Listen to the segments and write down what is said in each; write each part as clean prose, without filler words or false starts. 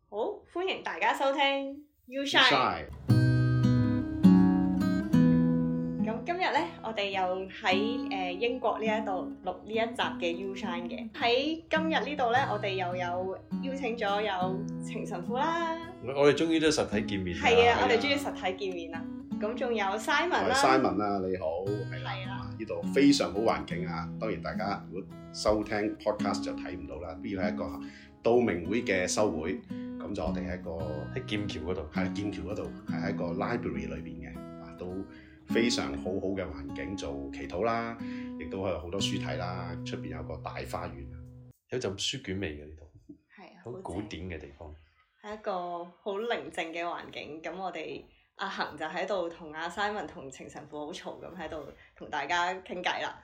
好，歡迎大家收聽 You Shine。咁今日咧，我哋又喺英國呢一度錄呢一集嘅 You Shine 嘅。喺今日呢度咧，我哋又有邀請咗有程神父啦。 我哋終於都實體見面啦。 係啊，我哋終於實體見面啦。咁仲有 Simon 啦。 Simon 啊，你好，係啦，呢度非常好環境啊。當然大家如果收聽 podcast 就睇唔到啦。呢個係一個道明會嘅修會，咁就我哋喺一個喺劍橋嗰度， 係劍橋嗰度，係喺一個 library 裏邊嘅，都非常好好嘅環境做祈禱啦，亦都有好多書睇啦。出邊有個大花園， 有陣書卷味嘅呢度， 係啊， 好古典嘅地方， 係一個好寧靜嘅環境。咁我哋阿恒就喺度同阿 Simon 同程神父好嘈咁喺度同大家傾偈啦。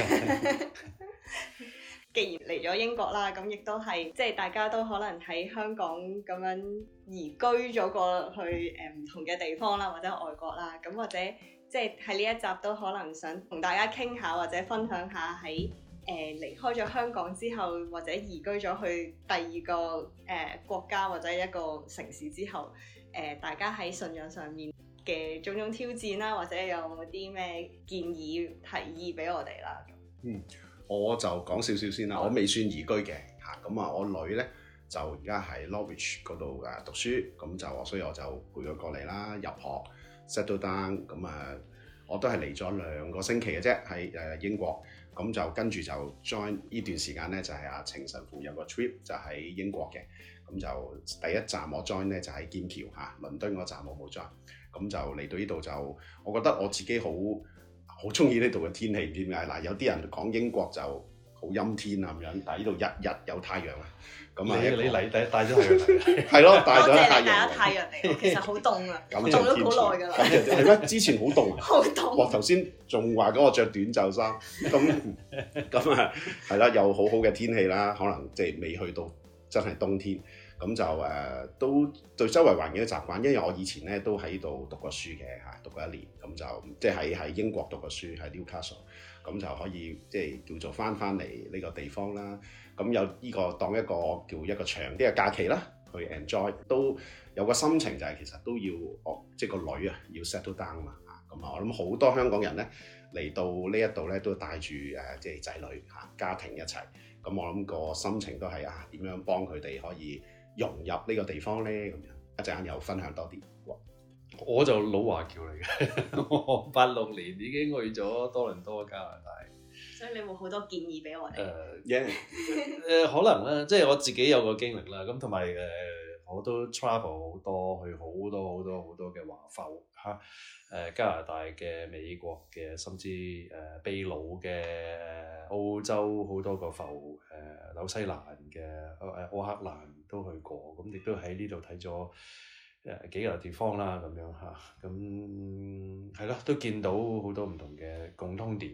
既然嚟咗英國啦，咁亦都係即係大家都可能喺香港咁樣移居咗過去唔同嘅地方啦，或者外國啦，咁或者即係喺呢一集都可能想同大家傾下或者分享下喺離開咗香港之後，或者移居咗去第二個國家或者一個城市之後，大家喺信仰上面嘅種種挑戰啦，或者有冇啲咩建議提議俾我哋啦？ 我就講少少先啦。我未算移居嘅嚇，咁啊我女咧就而家喺 Norwich 嗰度讀書，咁就所以我就陪佢過嚟啦，入學 settle down，咁我都係嚟咗2個星期嘅啫，喺英國，咁就跟住就 join 呢段時間咧，就係阿程神父有個 trip 就喺英國嘅，咁就第一站我 join 咧就喺劍橋嚇，倫敦嗰站我冇 join，咁就嚟到呢度就我覺得我自己好中意呢度嘅天氣，唔知點解嗱？有啲人講英國就好陰天啊咁樣，但係呢度日日有太陽啊。咁啊， 你嚟帶咗太陽嚟， 係咯，帶咗太陽。 多謝你帶咗太陽嚟，其實好凍啊，凍咗好耐㗎啦。 係咩？之前好凍啊， 好凍。 哇！頭先仲話嗰我着短袖衫，咁啊係啦，有好好嘅天氣啦，可能即係未去到真係冬天。咁就都對周圍環境都習慣，因為我以前咧都喺度讀過書嘅嚇，讀過1年，咁就即係喺英國讀過書喺 Newcastle，咁就可以即係叫做翻嚟呢個地方啦。咁有呢個當一個叫一個長啲嘅假期啦，去 enjoy 都有個心情就係其實都要即係個女啊要 settle down 嘛嚇。咁我諗好多香港人咧嚟到呢一度咧都帶住即係仔女嚇家庭一齊，咁我諗個心情都係點樣幫佢哋可以融入呢個地方咧，咁樣一陣間又分享多啲。 我就老華僑嚟嘅，我86年已經去咗多倫多加拿大， 所以你會好多建議俾我哋。 可能啦，即係我自己有個經歷啦，咁同埋我都 travel 好多，去好多嘅華埠嚇，加拿大嘅、美國嘅，甚至秘魯嘅、澳洲好多個埠，紐西蘭嘅、奧克蘭都去過，咁亦都喺呢度睇咗幾個地方啦，咁樣嚇，咁係咯，都見到好多唔同嘅共通點。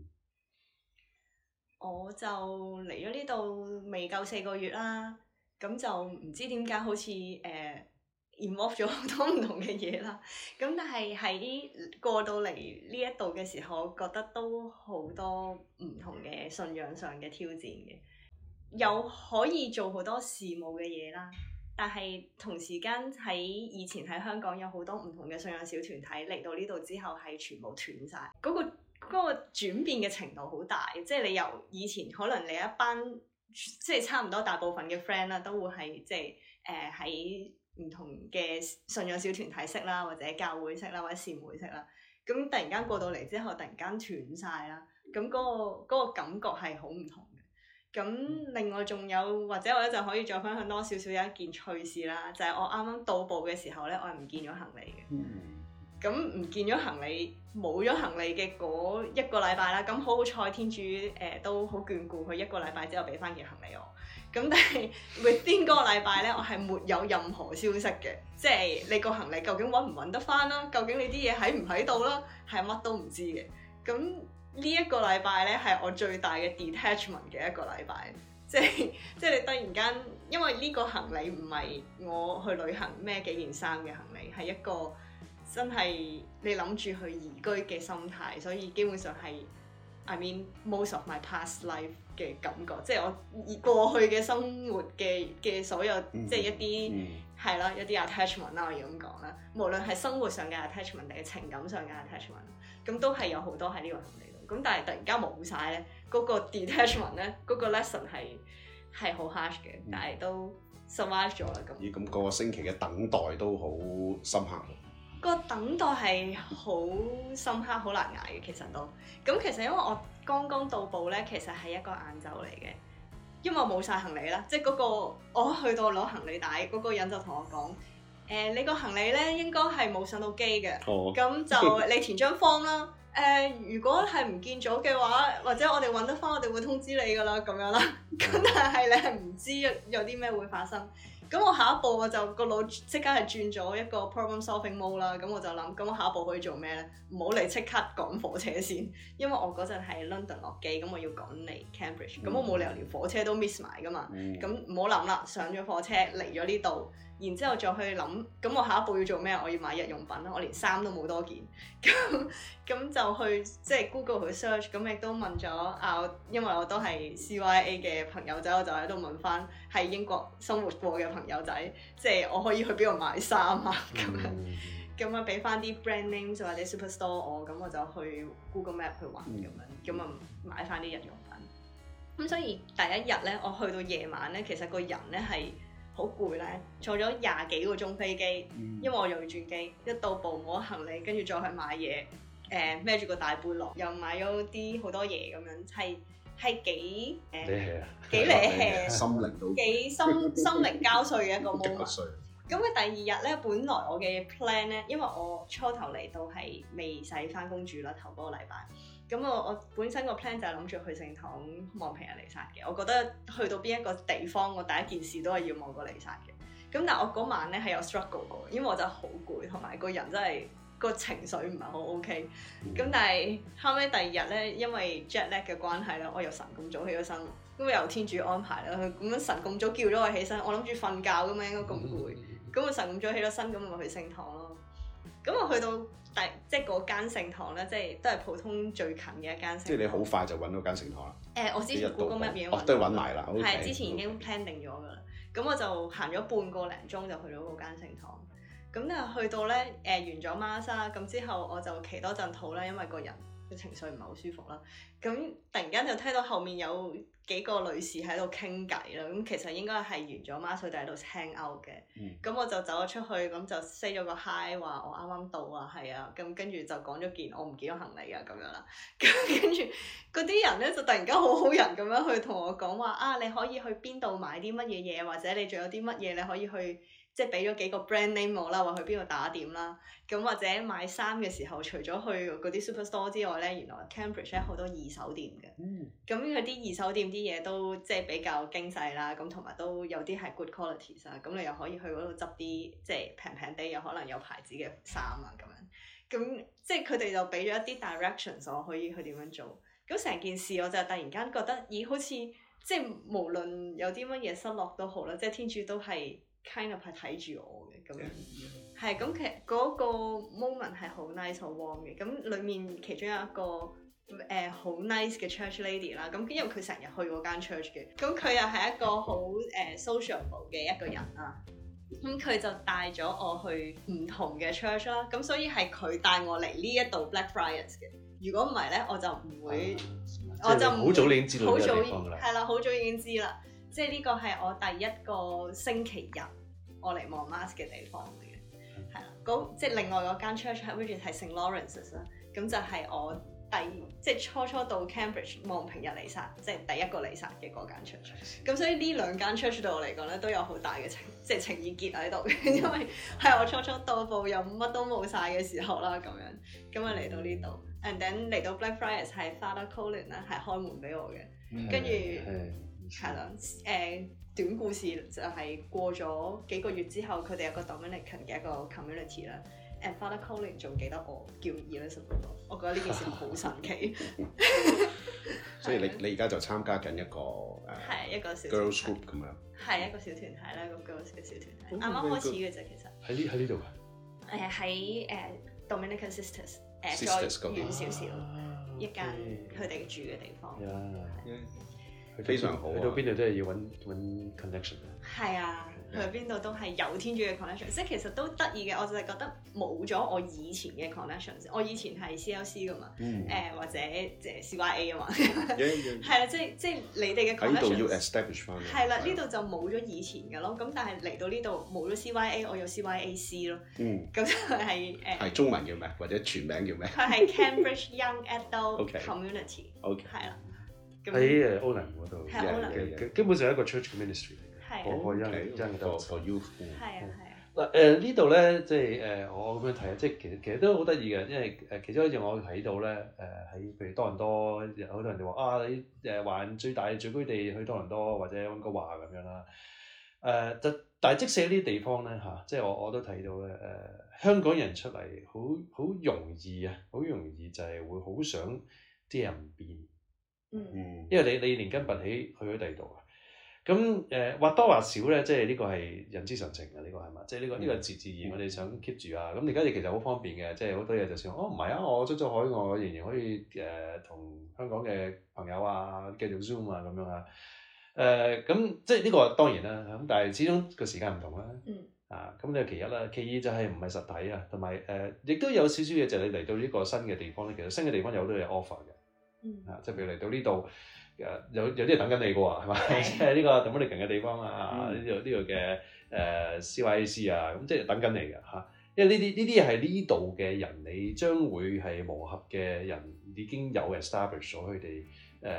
我就嚟咗呢度未夠4個月啦，咁就唔知點解好似involve 咗好多唔同嘅嘢啦。咁但係喺過到嚟呢一度嘅時候，我覺得都好多唔同嘅信仰上嘅挑戰嘅，有可以做好多事務嘅嘢啦。但係同時間喺以前喺香港有好多唔同嘅信仰小團體嚟到呢度之後係全部斷晒，嗰個轉變嘅程度好大，即係你由以前可能你一班即係差唔多大部分嘅 friend 啦，都會係即係喺唔同嘅信仰小團體識啦，或者教會識啦，或者善會識啦。咁突然間過到嚟之後，突然間斷晒啦，咁嗰個感覺係好唔同嘅。咁另外仲有，或者我一陣可以再分享多少少有一件趣事啦，就係我啱啱到埗嘅時候咧，我係唔見咗行李嘅。咁唔見咗行李，冇咗行李嘅嗰1個禮拜啦，咁好彩天主都好眷顧佢，1個禮拜之後俾翻件行李我。咁但係 within 嗰個禮拜咧，我係沒有任何消息嘅，即係你個行李究竟揾唔揾得翻啦，究竟你啲嘢喺唔喺度啦，係乜都唔知嘅。咁呢一個禮拜咧係我最大嘅 detachment 嘅一個禮拜，即係你突然間，因為呢個行李唔係我去旅行孭幾件衫嘅行李，係一個真係你諗住去移居嘅心態，所以基本上係 I mean most of my past life 嘅感覺，即係我過去嘅生活嘅所有，即係一啲係啦，一啲 attachment 啦，我要咁講啦。無論係生活上嘅 attachment 定係情感上嘅 attachment， 咁都係有好多喺呢個行李度。咁但係突然間冇晒咧，嗰個 detachment 咧，嗰個 lesson 係好 harsh 嘅，但係都 survive 咗啦。咁咁個星期嘅等待都好深刻。 個等待係好深刻、好難捱嘅，其實都。咁其實因為我剛剛到埗咧，其實係一個晏晝嚟嘅，因為我冇晒行李啦，即係嗰個我去到攞行李帶嗰個人就同我講：你個行李咧應該係冇上到機嘅，咁就你填張 form 啦。如果係唔見咗嘅話，或者我哋揾得翻，我哋會通知你噶啦，咁樣啦。咁但係你係唔知有啲咩會發生。咁我下一步我就個腦即刻係轉咗一個 problem solving mode 啦。咁我就諗，咁我下一步可以做咩咧？唔好嚟即刻趕火車先，因為我嗰陣係 London 落機，咁我要趕嚟 Cambridge，咁我冇理由連火車都 miss 埋噶嘛。咁唔好諗啦，上咗火車嚟咗呢度，然之後再去諗，咁我下一步要做咩？我要買日用品啦，我連衫都冇多件，咁就去即係 Google 去 search，咁亦都問咗因為我都係 CYA 嘅朋友仔，我就喺度問翻喺英國生活過嘅朋友仔，即係我可以去邊度買衫啊咁樣，咁啊俾翻啲 brand names 或者 superstore 我，咁我就去 Google Map 去揾咁樣，咁啊買翻啲日用品。咁所以第一日咧，我去到夜晚咧，其實個人咧係好攰咧，坐咗20幾個鐘飛機，因為我又要轉機，一到埗冇行李，跟住再去買嘢，孭住個大背囊，又買咗啲好多嘢咁樣，係幾幾離氣， 心靈都幾心靈交瘁嘅一個 moment。咁佢第二日咧，本來我嘅 plan 咧，因為我初頭嚟到係未使翻工住啦，頭嗰個禮拜。咁我本身個 plan 就係諗住去聖堂望平日彌撒嘅。我覺得去到邊一個地方，我第一件事都係要望個彌撒嘅。咁但係我嗰晚咧係有 struggle 過，因為我真係好攰，同埋個人真係個情緒唔係好 OK。咁但係後尾第二日咧，因為 jet lag 嘅關係咧，我又神咁早起咗身，咁由天主安排啦。咁樣神咁早叫咗我起身，我諗住瞓覺㗎嘛，應該咁攰。咁我神咁早起咗身，咁咪去聖堂咯。咁我去到即係嗰間聖堂咧，即係都係普通最近嘅一間聖堂。即係你好快就揾到間聖堂啦。 我之前 Google Map 已經都揾埋啦。 係之前已經 plan 定咗㗎啦。咁我就行咗半個零鐘就去到嗰間聖堂。咁咧去到咧完咗 Mass 啦，咁之後我就祈多陣禱啦，因為個人嘅情緒唔係好舒服啦。咁突然間就聽到後面有幾個女士喺度傾偈啦，咁其實應該係完咗 Mass 佢哋喺度 hang out 嘅。咁我就走咗出去，咁就 say 咗個 hi， 話我啱啱到啊，係啊，咁跟住就講咗件我唔見咗行李啊咁樣啦。咁跟住嗰啲人咧就突然間好好人咁樣去同我講話你可以去邊度買啲乜嘢嘢，或者你仲有啲乜嘢你可以去。即係俾咗幾個 brand name 我啦，話去邊度打點啦，咁或者買衫嘅時候，除咗去嗰啲 superstore 之外咧，原來 Cambridge 咧好多二手店嘅，咁佢啲二手店啲嘢都即係比較精細啦，咁同埋都有啲係 good qualities 啊，咁你又可以去嗰度執啲即係平平地，有可能有牌子嘅衫啊咁樣，咁即係佢哋就俾咗一啲 directions 我可以去點樣做，咁成件事我就突然間覺得，咦好似即係無論有啲乜嘢失落都好啦，即係天主都係。kind of 係睇住我嘅咁樣，係咁其實嗰個 moment 係好 nice 好 warm 嘅，咁裡面其中有一個好 nice 嘅 church lady 啦，咁因為佢成日去嗰間 church 嘅，咁佢又係一個好sociable 嘅一個人啦，咁佢就帶咗我去唔同嘅 church 啦，咁所以係佢帶我嚟呢一度 Blackfriars 嘅，如果唔係咧我就唔會，我就好早已經知道呢個地方㗎啦， 係啦，好早已經知啦，即係呢個係我第一個星期日。我嚟望 Mass 嘅地方嚟嘅，係啦，即係另外嗰間 church 係 St. Lawrence's 啦，咁就係我即係初到 Cambridge 望平日彌撒，即係第一個彌撒嘅嗰間 church。咁所以呢兩間 church 對我嚟講咧都有好大嘅情意結喺度嘅，因為係我初到埗又乜都冇晒嘅時候啦，咁啊嚟到呢度 ，and then 嚟到 Blackfriars 係 Father Colin 咧係開門俾我嘅，跟住係啦，短故事就係過咗幾個月之後，佢哋有個 Dominican 嘅一個 community 啦。And Father Colin 仲記得我叫 Elizabeth， 我覺得呢件事好神奇。 所以你而家就參加緊一個係一個小 girls group 咁樣。 係一個小團體啦，個 girls 嘅小團體，啱啱開始嘅啫，其實。 喺呢度㗎。 喺Dominican Sisters，再遠少少。 一間佢哋住嘅地方。 非常好啊去到邊度都係要揾 connection。 係啊，去邊度都係有天主嘅 connection，即係其實都得意嘅。我就係覺得冇咗我以前嘅 connection，我以前係 CLC 噶嘛，或者即係 CYA 啊嘛，係啦，即係你哋嘅 connection 喺度要 establish 翻。 係啦，呢度就冇咗以前嘅咯。咁但係嚟到呢度冇咗 CYA，我有 CYAC 咯。咁就係係中文叫咩？或者全名叫咩？ 佢係 Cambridge Young Adult Community。係啦。 喺歐林嗰度嘅，基本上係一個 church ministry 嚟嘅，個 young adult youth。 係啊。 嗱呢度咧，即係我咁樣睇，即係其實都好得意嘅，因為其中一樣我睇到咧，喺譬如多倫多，好多人哋話啊，你華人最大聚居地去多倫多或者溫哥華咁樣啦。但係即使呢啲地方咧嚇，即係我都睇到咧，香港人出嚟好容易啊，好容易就係會好想啲人變。因為你連根拔起去咗第二度啊，咁或多或少咧，即係呢個係人之常情嘅，呢個係嘛？即係呢個自然，我哋想 keep 住啊。咁而家其實好方便嘅，即係好多嘢就算唔係啊，我出咗海外，我仍然可以同香港嘅朋友啊繼續 Zoom 啊咁樣啊。咁即係呢個當然啦，咁但係始終個時間唔同啦。咁呢個其一啦，其二就係唔係實體啊，同埋亦都有少少嘢就係你嚟到呢個新嘅地方咧，其實新嘅地方有好多嘢 offer 嘅。即係譬如嚟到呢度，有啲人等緊你嘅喎，係咪？即係呢個 Dominican 嘅地方啊，呢度嘅CYAC 啊，咁即係等緊你嘅嚇。因為呢啲係呢度嘅人，你將會係磨合嘅人，已經有 establish 咗佢哋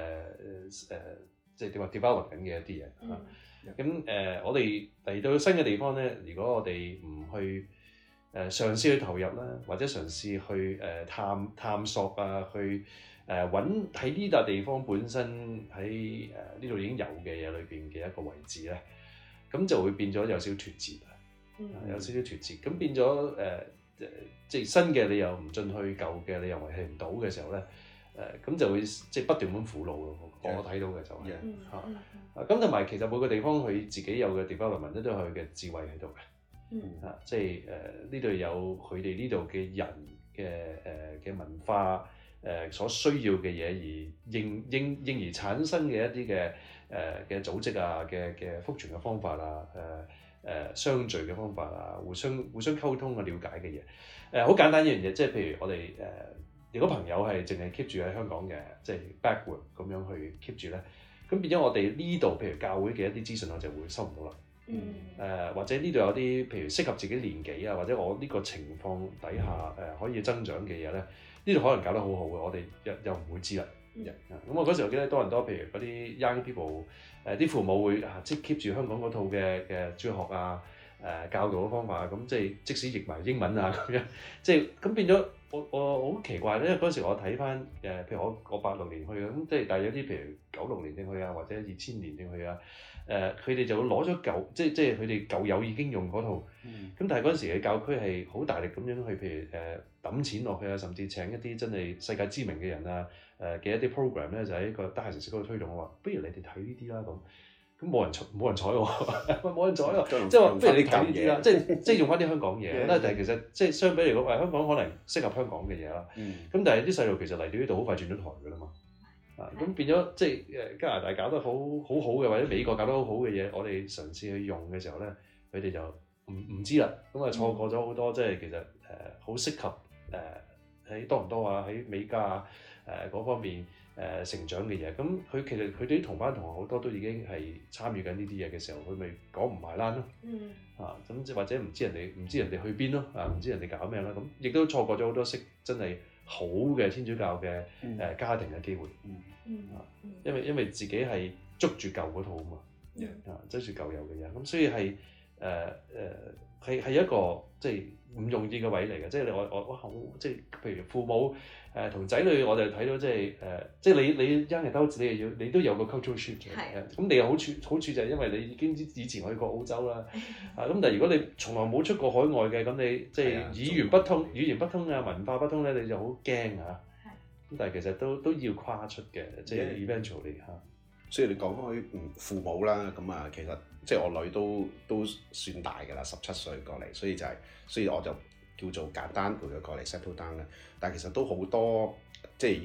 即係點話 develop 緊嘅一啲嘢嚇。咁我哋嚟到新嘅地方咧，如果我哋唔去嘗試去投入啦，或者嘗試去探索啊，去揾喺呢笪地方本身喺呢度已經有嘅嘢裏邊嘅一個位置咧，咁就會變咗有少少脫節啊，有少少脫節，咁變咗即係新嘅你又唔進去，舊嘅你又維繫唔到嘅時候咧，咁就會即係不斷咁苦惱咯。我睇到嘅就係咁，同埋其實每個地方佢自己有嘅 development 都有佢嘅智慧喺度嘅，即係呢度有佢哋呢度嘅人嘅文化。所需要嘅嘢而應而產生嘅一啲嘅組織啊嘅福傳嘅方法啊相聚嘅方法啊互相溝通嘅了解嘅嘢好簡單一樣嘢，即係譬如我哋如果朋友係淨係 keep 住喺香港嘅，即係 backward 咁樣去 keep 住咧，咁變咗我哋呢度譬如教會嘅一啲資訊我就會收唔到啦。或者呢度有啲譬如適合自己年紀啊，或者我呢個情況底下可以增長嘅嘢咧。呢度可能搞得好好嘅，我哋又唔會知啦。咁我嗰時候記得多倫多，譬如嗰啲 young people，啲父母會即係 keep 住香港嗰套嘅主學啊，教導嘅方法啊，咁即使譯埋英文啊咁樣，即係咁變咗我好奇怪咧，因為嗰時我睇翻譬如我86年去嘅，咁即係但係有啲譬如96年正去啊，或者2000年正去啊，佢哋就會攞咗舊，即係佢哋舊友已經用嗰套，咁但係嗰陣時嘅教區係好大力咁樣去譬如抌錢落去啊，甚至請一啲真係世界知名嘅人啊，嘅一啲 program 咧就喺個大城市嗰度推動。我話不如你哋睇呢啲啦咁冇人睬我，冇人睬我，即係話不如你睇呢啲啦，即係用翻啲香港嘢。但係其實即係相比嚟講，香港可能適合香港嘅嘢啦。咁但係啲細路其實嚟到呢度好快轉咗台㗎啦嘛。咁變咗即係加拿大搞得好好嘅，或者美國搞得好好嘅嘢，我哋嘗試去用嘅時候咧，佢哋就唔知啦。咁啊錯過咗好多即係其實好適合喺多倫多啊，喺美加啊嗰方面成長嘅嘢。咁其實佢哋啲同班同學好多都已經係參與緊呢啲嘢嘅時候，佢咪講唔埋欄咯。咁即或者唔知人哋去邊咯，唔知人哋搞咩啦。咁亦都錯過咗好多真係好嘅天主教嘅家庭嘅機會。因為自己係捉住舊嗰套啊嘛，捉住舊有嘅嘢。咁所以係係一個即係唔容易嘅位嚟嘅，即係我好即係譬如父母同仔女，我哋睇到即係你 young adult 你都有個 cultural shift 嘅，咁你嘅好處就係因為你已經以前去過澳洲啦，咁但係如果你從來冇出過海外嘅，咁你即係語言不通啊，文化不通咧，你就好驚嚇。咁但係其實都要跨出嘅，即係 eventually 嚇。 所以你講開父母啦，咁啊其實即係我女都算大㗎啦，17歲過嚟，所以我就叫做簡單陪佢過嚟 settle down 啦。但係其實都好多即係要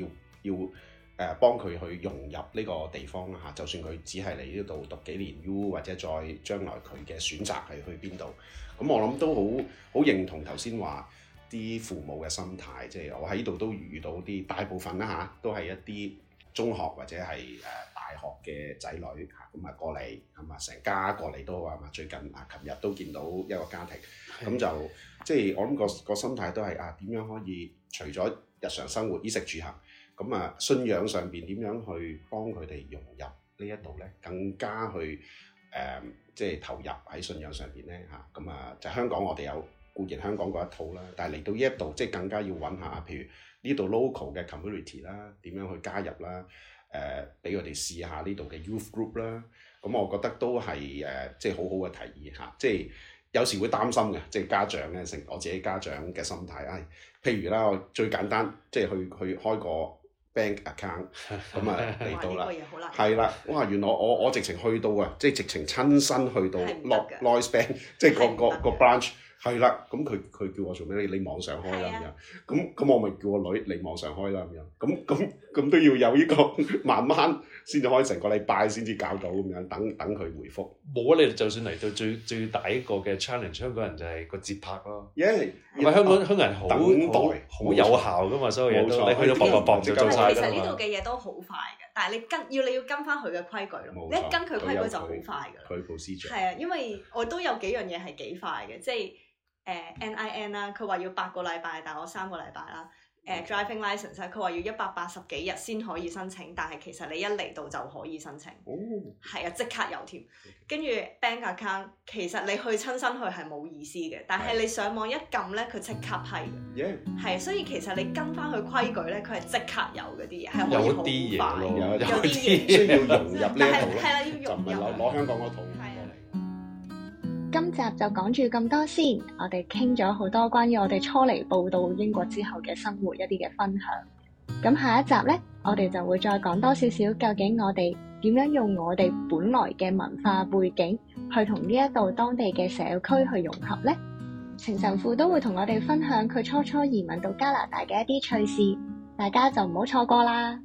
幫佢去融入呢個地方啦嚇，就算佢只係嚟呢度讀幾年 U， 或者再將來佢嘅選擇係去邊度，咁我諗都好認同頭先話啲父母嘅心態，即係我喺呢度都遇到啲大部分啦嚇，都係一啲中學或者係大學嘅仔女嚇，咁過嚟係嘛，成家過嚟都話嘛，最近琴日都見到一個家庭，咁就即係我諗個心態都係點樣可以除咗日常生活衣食住行。咁信仰上邊點樣去幫佢哋融入呢一度咧？更加去即係投入喺信仰上邊咧嚇。咁就香港我哋有固然香港嗰一套啦，但係嚟到呢一度即係更加要揾下，譬如呢度 local 嘅 community 啦，點樣去加入啦？俾佢哋試下呢度嘅 youth group 啦。咁我覺得都係即係好好嘅提議嚇。即係有時會擔心嘅，即係家長咧，成我自己家長嘅心態。譬如啦，我最簡單即係去開個bank account 咁嚟到啦，係啦，哇！原來我直情去到即係直情親身去到 Lloyds Bank， 即係個 branch 係啦。咁佢叫我做咩？你網上開啦咁樣。咁我咪叫我女你網上開啦咁樣。咁都要有呢個慢慢先至可以成個禮拜先至搞到咁樣，等佢回覆。 冇啊！你哋就算嚟到最大一個嘅 challenge， 香港人就係個節拍咯。 因為香港人好等待好有效噶嘛，所有嘢都你去到搏就做晒㗎嘛。 其實呢度嘅嘢都好快嘅，但係你要跟翻佢嘅規矩咯。你一跟佢規矩就好快㗎啦。 佢 procedure 係啊，因為我都有幾樣嘢係幾快嘅，即係NIN 啦，佢話要8個禮拜，但係我3個禮拜啦。driving license 佢話要180幾日先可以申請，但係其實你一嚟到就可以申請。係啊，即刻有添。跟住 bank account， 其實你去親身去係冇意思嘅，但係你上網一撳咧，佢即刻批嘅。係，所以其實你跟翻佢規矩咧，佢係即刻有嗰啲嘢，係可以好快。有啲嘢需要融入呢一套咯， 係啦，要融入。 就唔係攞香港嗰套。 今集就講住咁多先，我哋傾咗好多關於我哋初嚟報到英國之後嘅生活一啲嘅分享。咁下一集呢，我哋就會再講多少少，究竟我哋點樣用我哋本來嘅文化背景去同呢一度當地嘅社區去融合呢？程神父都會同我哋分享佢初移民到加拿大嘅一啲趣事，大家就唔好錯過啦。